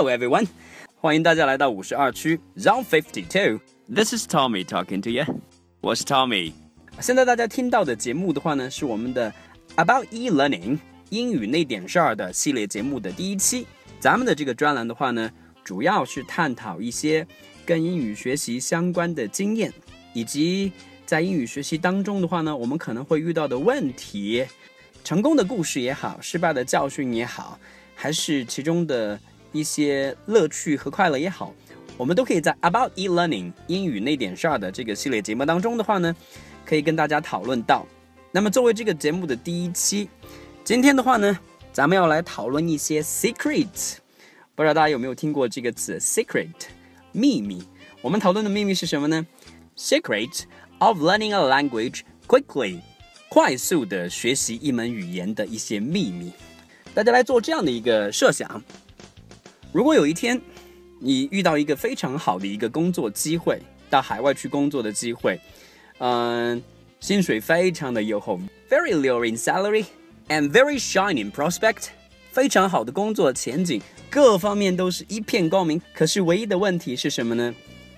Hello everyone， 欢迎大家来到52区 Zone 52。 This is Tommy talking to you. 我是 Tommy。 现在大家听到的节目的话呢，是我们的 About e-learning 英语那点事儿的系列节目的第一期。咱们的这个专栏的话呢，主要是探讨一些跟英语学习相关的经验，以及在英语学习当中的话呢，我们可能会遇到的问题，成功的故事也好，失败的教训也好，还是其中的一些乐趣和快乐也好，我们都可以在 About e-learning 英语那点事儿的这个系列节目当中的话呢，可以跟大家讨论到。那么作为这个节目的第一期，今天的话呢，咱们要来讨论一些 secret。 不知道大家有没有听过这个词 secret， 秘密。我们讨论的秘密是什么呢？ Secret of learning a language quickly， 快速的学习一门语言的一些秘密。大家来做这样的一个设想，如果有一天你遇到一个非常好的一个工作机会，到海外去工作的机会，薪水非常的优厚， very low in salary and very shine in prospect， 非常好的工作前景，各方面都是一片光明。可是唯一的问题是什么呢？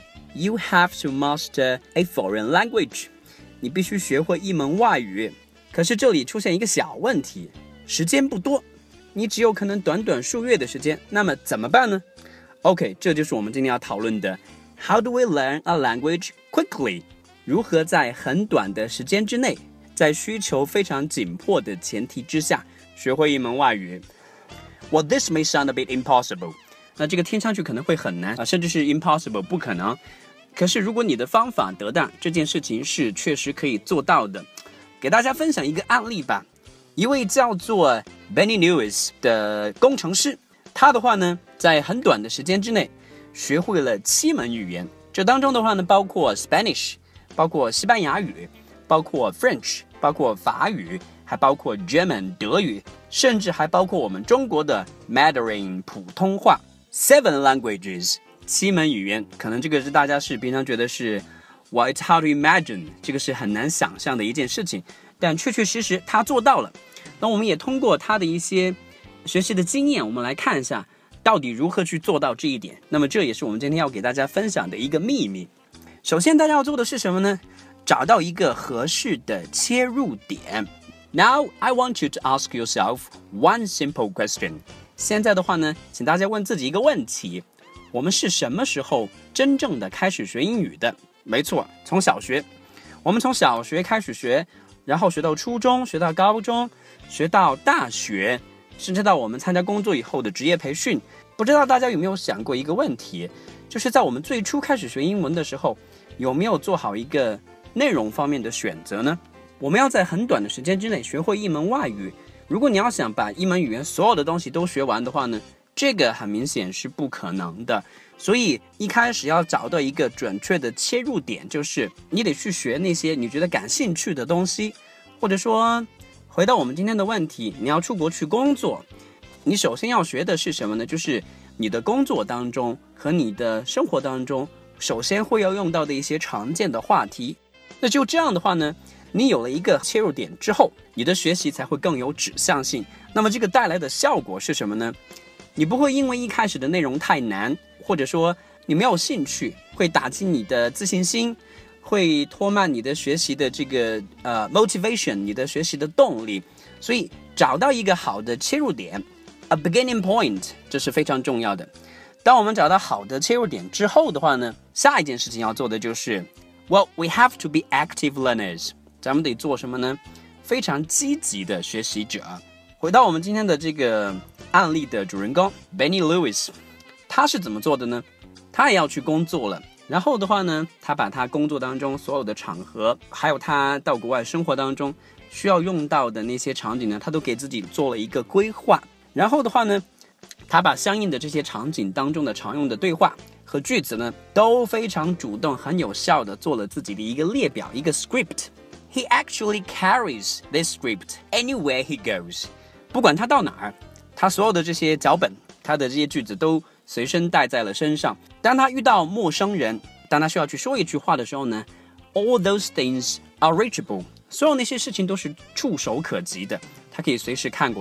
You have to master a foreign language， 你必须学会一门外语。可是这里出现一个小问题，时间不多，你只有可能短短数月的时间，那么怎么办呢？ OK， 这就是我们今天要讨论的 How do we learn a language quickly？ 如何在很短的时间之内，在需求非常紧迫的前提之下，学会一门外语。 Well, this may sound a bit impossible， 那这个听上去可能会很难，甚至是 impossible， 不可能。可是如果你的方法得当，这件事情是确实可以做到的。给大家分享一个案例吧。一位叫做 Benny Lewis 的工程师，他的话呢，在很短的时间之内学会了7门语言。这当中的话呢，包括 Spanish， 包括西班牙语，包括 French， 包括法语，还包括 German 德语，甚至还包括我们中国的 Mandarin 普通话。 7 languages， 7门语言。可能这个是大家是平常觉得是 Well, it's hard to imagine， 这个是很难想象的一件事情，但确确实实他做到了。那我们也通过他的一些学习的经验，我们来看一下到底如何去做到这一点。那么这也是我们今天要给大家分享的一个秘密。首先大家要做的是什么呢？找到一个合适的切入点。 Now I want you to ask yourself one simple question。 现在的话呢，请大家问自己一个问题，我们是什么时候真正的开始学英语的？没错，从小学。我们从小学开始学，然后学到初中，学到高中，学到大学，甚至到我们参加工作以后的职业培训。不知道大家有没有想过一个问题，就是在我们最初开始学英文的时候，有没有做好一个内容方面的选择呢？我们要在很短的时间之内学会一门外语，如果你要想把一门语言所有的东西都学完的话呢，这个很明显是不可能的。所以一开始要找到一个准确的切入点，就是你得去学那些你觉得感兴趣的东西。或者说回到我们今天的问题，你要出国去工作，你首先要学的是什么呢？就是你的工作当中和你的生活当中首先会要用到的一些常见的话题。那就这样的话呢，你有了一个切入点之后，你的学习才会更有指向性。那么这个带来的效果是什么呢？你不会因为一开始的内容太难，或者说你没有兴趣，会打击你的自信心，会拖慢你的学习的这个motivation， 你的学习的动力。所以找到一个好的切入点 a beginning point， 这是非常重要的。当我们找到好的切入点之后的话呢，下一件事情要做的就是 Well, we have to be active learners。 咱们得做什么呢？非常积极的学习者。回到我们今天的这个案例的主人公 Benny Lewis， 他是怎么做的呢？他也要去工作了，然后的话呢，他把他工作当中所有的场合，还有他到国外生活当中需要用到的那些场景呢，他都给自己做了一个规划。然后的话呢，他把相应的这些场景当中的常用的对话和句子呢，都非常主动很有效的做了自己的一个列表，一个 script。He actually carries this script anywhere he goes。 不管他到哪儿，他所有的这些脚本，他的这些句子都随身带在了身上。当他遇到陌生人，当他需要去说一句话的时候呢， all those things are reachable， 所有那些事情都是触手可及的，他可以随时看过来。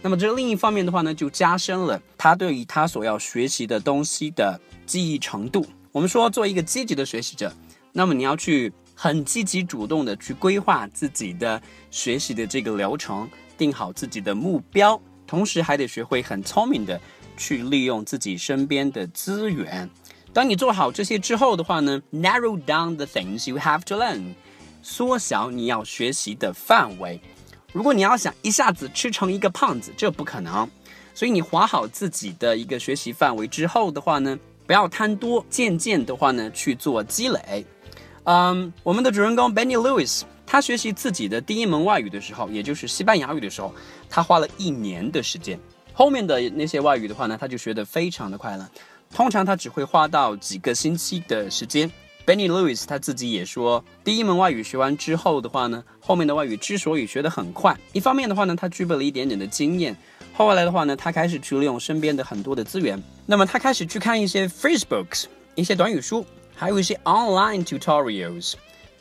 那么这另一方面的话呢，就加深了他对于他所要学习的东西的记忆程度。我们说做一个积极的学习者，那么你要去很积极主动的去规划自己的学习的这个流程，定好自己的目标，同时还得学会很聪明的去利用自己身边的资源。当你做好这些之后的话呢， narrow down the things you have to learn， 缩小你要学习的范围。如果你要想一下子吃成一个胖子，这不可能，所以你划好自己的一个学习范围之后的话呢，不要贪多，渐渐的话呢去做积累。我们的主人公 Benny Lewis， 他学习自己的第一门外语的时候，也就是西班牙语的时候，他花了1年的时间。后面的那些外语的话呢，他就学得非常的快了，通常他只会花到几个星期的时间。Benny Lewis 他自己也说，第一门外语学完之后的话呢，后面的外语之所以学得很快，一方面的话呢，他具备了一点点的经验，后来的话呢，他开始去利用身边的很多的资源，那么他开始去看一些 phrase books， 一些短语书，还有一些 online tutorials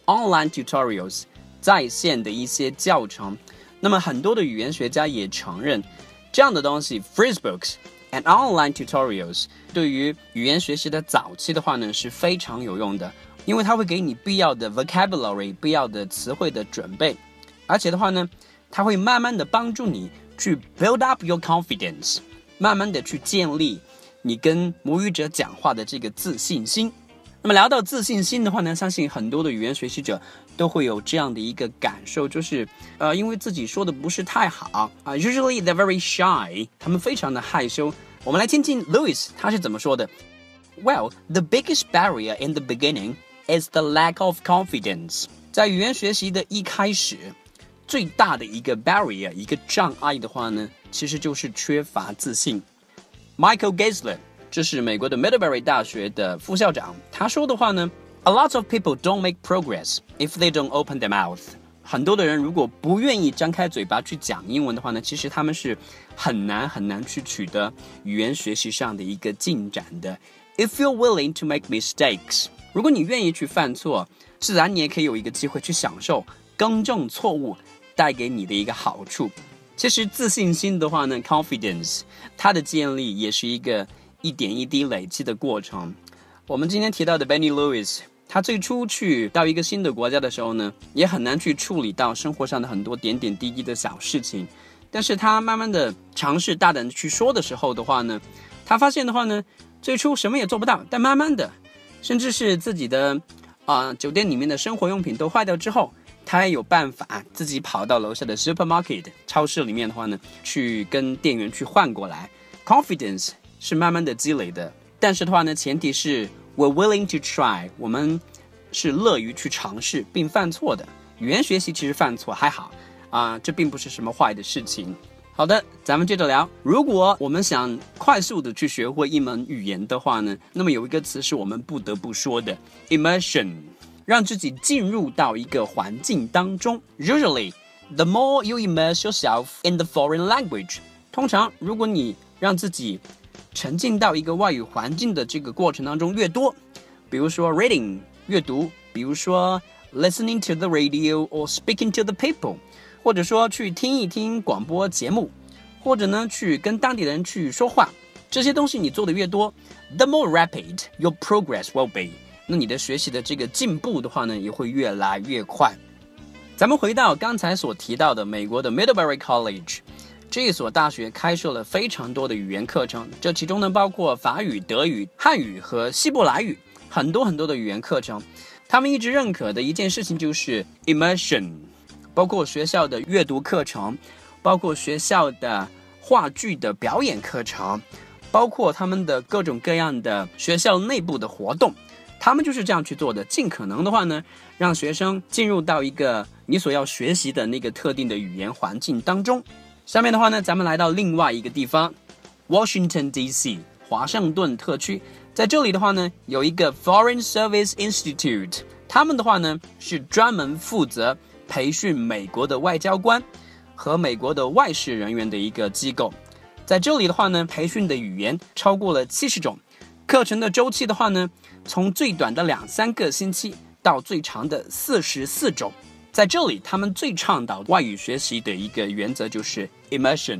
在线的一些教程。那么很多的语言学家也承认，这样的东西 phrase books and online tutorials 对于语言学习的早期的话呢是非常有用的，因为它会给你必要的 vocabulary 必要的词汇的准备，而且的话呢，它会慢慢的帮助你去 build up your confidence， 慢慢的去建立你跟母语者讲话的这个自信心。那么聊到自信心的话呢，相信很多的语言学习者都会有这样的一个感受，就是因为自己说的不是太好usually they're very shy， 他们非常的害羞。我们来听听 Lewis 他是怎么说的。 Well, the biggest barrier in the beginning is the lack of confidence。 在语言学习的一开始，最大的一个 barrier 一个障碍的话呢，其实就是缺乏自信。 Michael Geisler，这是美国的 Middlebury 大学的副校长，他说的话呢， A lot of people don't make progress if they don't open their mouth。 很多的人如果不愿意张开嘴巴去讲英文的话呢，其实他们是很难去取得语言学习上的一个进展的。 If you're willing to make mistakes， 如果你愿意去犯错，自然你也可以有一个机会去享受更正错误带给你的一个好处。其实自信心的话呢 confidence 它的建立也是一个一点一滴累积的过程。我们今天提到的 Benny Lewis， 他最初去到一个新的国家的时候呢，也很难去处理到生活上的很多点点滴滴的小事情，但是他慢慢的尝试大胆的去说的时候的话呢，他发现的话呢，最初什么也做不到，但慢慢的甚至是自己的酒店里面的生活用品都坏掉之后，他也有办法自己跑到楼下的 supermarket 超市里面的话呢，去跟店员去换过来。 Confidence 是慢慢的积累的，但是的话呢，前提是 we're willing to try， 我们是乐于去尝试并犯错的。语言学习其实犯错还好这并不是什么坏的事情。好的，咱们接着聊。如果我们想快速的去学会一门语言的话呢，那么有一个词是我们不得不说的 immersion， 让自己进入到一个环境当中。 Usually the more you immerse yourself in the foreign language， 通常如果你让自己沉浸到一个外语环境的这个过程当中越多，比如说 reading 阅读，比如说 listening to the radio or speaking to the people， 或者说去听一听广播节目，或者呢去跟当地人去说话，这些东西你做的越多， the more rapid your progress will be， 那你的学习的这个进步的话呢，也会越来越快。咱们回到刚才所提到的美国的 Middlebury College，这一所大学开设了非常多的语言课程，这其中呢包括法语、德语、汉语和希伯来语，很多的语言课程。他们一直认可的一件事情就是 immersion， 包括学校的阅读课程，包括学校的话剧的表演课程，包括他们的各种各样的学校内部的活动，他们就是这样去做的。尽可能的话呢，让学生进入到一个你所要学习的那个特定的语言环境当中。下面的话呢，咱们来到另外一个地方 Washington DC 华盛顿特区。在这里的话呢，有一个 Foreign Service Institute， 他们的话呢是专门负责培训美国的外交官和美国的外事人员的一个机构。在这里的话呢，培训的语言超过了70种，课程的周期的话呢，从最短的2-3个星期到最长的44周。在这里他们最倡导外语学习的一个原则就是 immersion。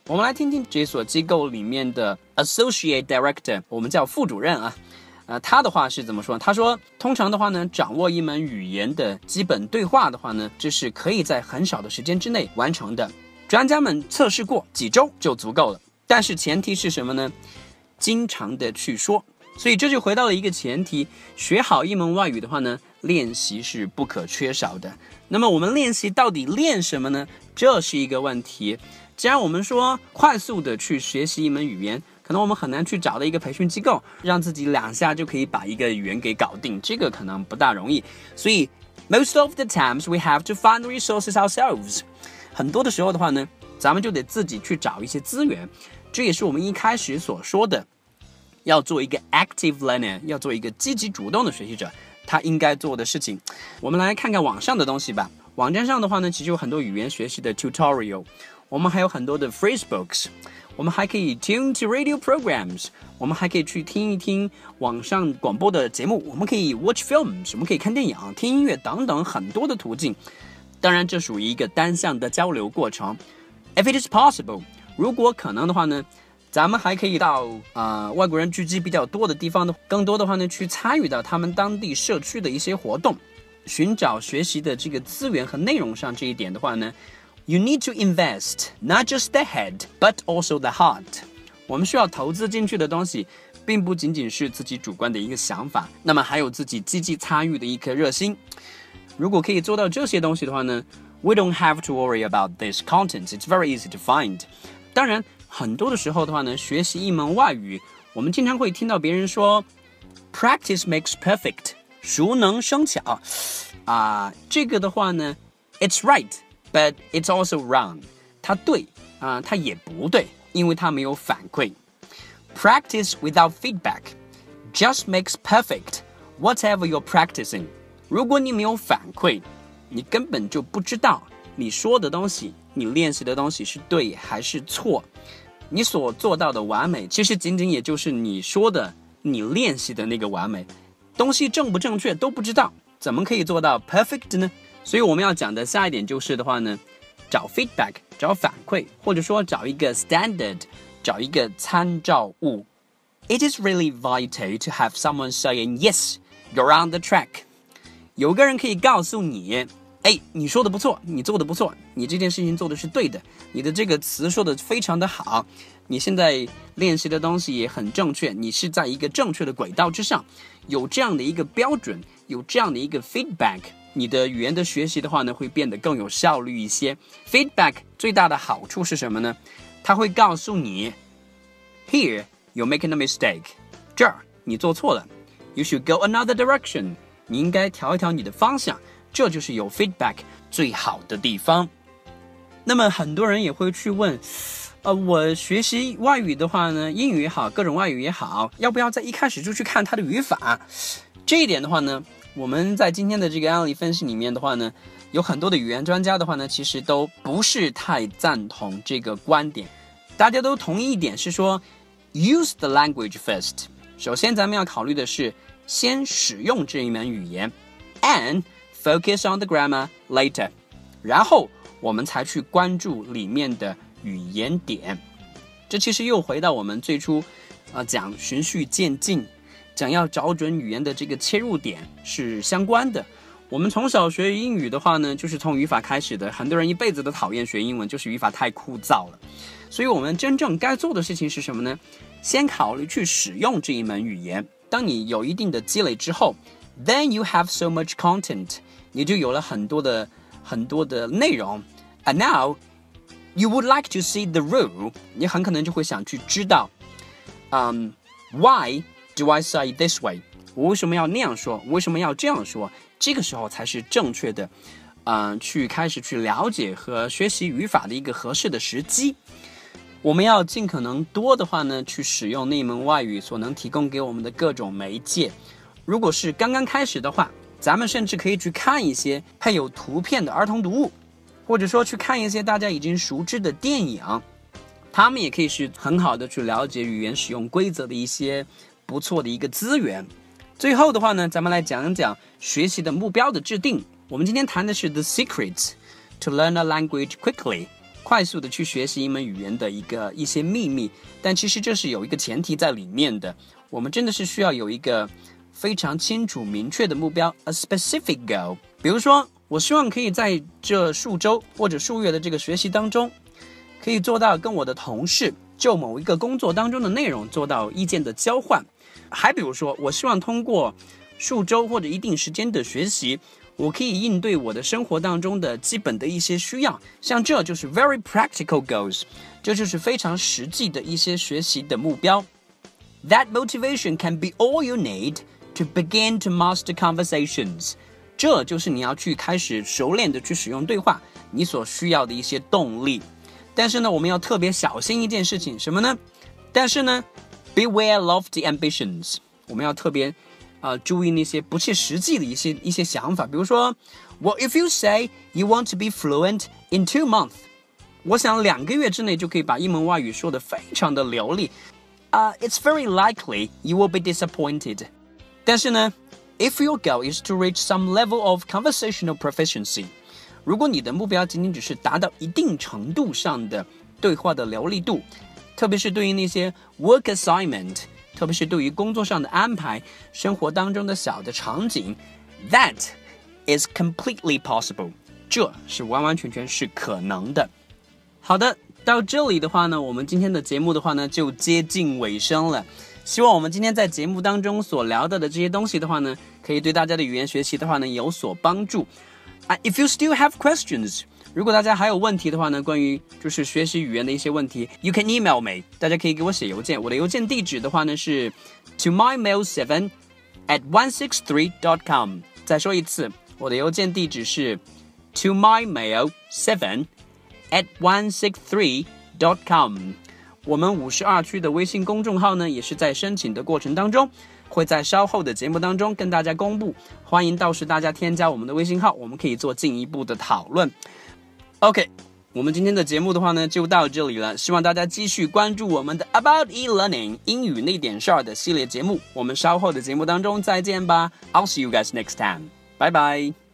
我们来听听这所机构里面的 Associate Director， 我们叫副主任啊。他的话是怎么说？他说，通常的话呢，掌握一门语言的基本对话的话呢，这是可以在很少的时间之内完成的。专家们测试过，几周就足够了。但是前提是什么呢？经常的去说。所以这就回到了一个前提，学好一门外语的话呢，练习是不可缺少的。那么我们练习到底练什么呢？这是一个问题。既然我们说快速的去学习一门语言，可能我们很难去找到一个培训机构，让自己2下就可以把一个语言给搞定，这个可能不大容易。所以 most of the times we have to find the resources ourselves。很多的时候的话呢，咱们就得自己去找一些资源。这也是我们一开始所说的，要做一个 active learner， 要做一个积极主动的学习者，他应该做的事情。我们来看看网上的东西吧。网站上的话呢，其实有很多语言学习的 tutorial， 我们还有很多的 phrasebooks， 我们还可以 tune to radio programs， 我们还可以去听一听网上广播的节目，我们可以 watch films， 我们可以看电影、听音乐等等很多的途径。当然这属于一个单向的交流过程。 If it is possible， 如果可能的话呢，咱们还可以到外国人聚集比较多的地方的，更多的话呢，去参与到他们当地社区的一些活动，寻找学习的这个资源和内容上。这一点的话呢， you need to invest not just the head but also the heart。 我们需要投资进去的东西并不仅仅是自己主观的一个想法，那么还有自己积极参与的一颗热心。如果可以做到这些东西的话呢， we don't have to worry about this content. It's very easy to find。 当然很多的时候的话呢，学习一门外语，我们经常会听到别人说 practice makes perfect， 熟能生巧这个的话呢 it's right but it's also wrong， 它对它也不对，因为它没有反馈。 Practice without feedback just makes perfect whatever you're practicing。 如果你没有反馈，你根本就不知道你说的东西，你练习的东西是对还是错。你所做到的完美，其实仅仅也就是你说的你练习的那个完美。东西正不正确都不知道，怎么可以做到 perfect 呢？所以我们要讲的下一点就是的话呢，找 feedback， 找反馈，或者说找一个 standard， 找一个参照物。 It is really vital to have someone saying yes, you're on the track。 有个人可以告诉你，你说的不错，你做的不错，你这件事情做的是对的，你的这个词说的非常的好，你现在练习的东西也很正确，你是在一个正确的轨道之上。有这样的一个标准，有这样的一个 feedback， 你的语言的学习的话呢，会变得更有效率一些。 Feedback 最大的好处是什么呢？它会告诉你 Here you're making a mistake， 这儿你做错了， You should go another direction， 你应该调一调你的方向。这就是有 feedback 最好的地方。那么很多人也会去问我学习外语的话呢，英语也好，各种外语也好，要不要在一开始就去看它的语法？这一点的话呢，我们在今天的这个案例分析里面的话呢，有很多的语言专家的话呢，其实都不是太赞同这个观点。大家都同意一点是说 use the language first， 首先咱们要考虑的是先使用这一门语言 and focus on the grammar later， 然后我们才去关注里面的语言点。这其实又回到我们最初讲循序渐进，讲要找准语言的这个切入点是相关的。我们从小学英语的话呢，就是从语法开始的。很多人一辈子都讨厌学英文，就是语法太枯燥了。所以我们真正该做的事情是什么呢？先考虑去使用这一门语言。当你有一定的积累之后 then you have so much content， 你就有了很多的内容。 And now you would like to see the rule， 你很可能就会想去知道why do I say this way， 我为什么要那样说，我为什么要这样说。这个时候才是正确的去开始去了解和学习语法的一个合适的时机。我们要尽可能多的话呢，去使用那门外语所能提供给我们的各种媒介。如果是刚刚开始的话，咱们甚至可以去看一些配有图片的儿童读物，或者说去看一些大家已经熟知的电影，他们也可以是很好的去了解语言使用规则的一些不错的一个资源。最后的话呢，咱们来讲讲学习的目标的制定。我们今天谈的是 The Secret to Learn a Language Quickly， 快速的去学习一门语言的一些秘密，但其实这是有一个前提在里面的，我们真的是需要有一个非常清楚明确的目标 ，a specific goal。比如说，我希望可以在这数周或者数月的这个学习当中，可以做到跟我的同事就某一个工作当中的内容做到意见的交换。还比如说，我希望通过数周或者一定时间的学习，我可以应对我的生活当中的基本的一些需要，像这就是 very practical goals， 这就是非常实际的一些学习的目标。That motivation can be all you need to begin to master conversations。 这就是你要去开始熟练的去使用对话，你所需要的一些动力。但是呢，我们要特别小心一件事情，什么呢？但是呢 ，beware lofty ambitions， 我们要特别注意那些不切实际的一些想法。比如说 ，Well, if you say you want to be fluent in 2 months， 我想2个月之内就可以把一门外语说得非常的流利。It's very likely you will be disappointed。但是呢 ，if your goal is to reach some level of conversational proficiency， 如果你的目标仅仅只是达到一定程度上的对话的流利度，特别是对于那些 work assignment， 特别是对于工作上的安排，生活当中的小的场景 ，that is completely possible， 这是完完全全是可能的。好的，到这里的话呢，我们今天的节目的话呢，就接近尾声了。希望我们今天在节目当中所聊到的这些东西的话呢，可以对大家的语言学习的话呢有所帮助。If you still have questions， 如果大家还有问题的话呢，关于就是学习语言的一些问题 ，you can email me， 大家可以给我写邮件。我的邮件地址的话呢是 tomymail7@163.com。再说一次，我的邮件地址是 tomymail7@163.com。我们52区的微信公众号呢，也是在申请的过程当中，会在稍后的节目当中跟大家公布，欢迎到时大家添加我们的微信号，我们可以做进一步的讨论。OK， 我们今天的节目的话呢，就到这里了，希望大家继续关注我们的 About E-Learning 英语那点事儿的系列节目，我们稍后的节目当中再见吧。I'll see you guys next time. Bye bye.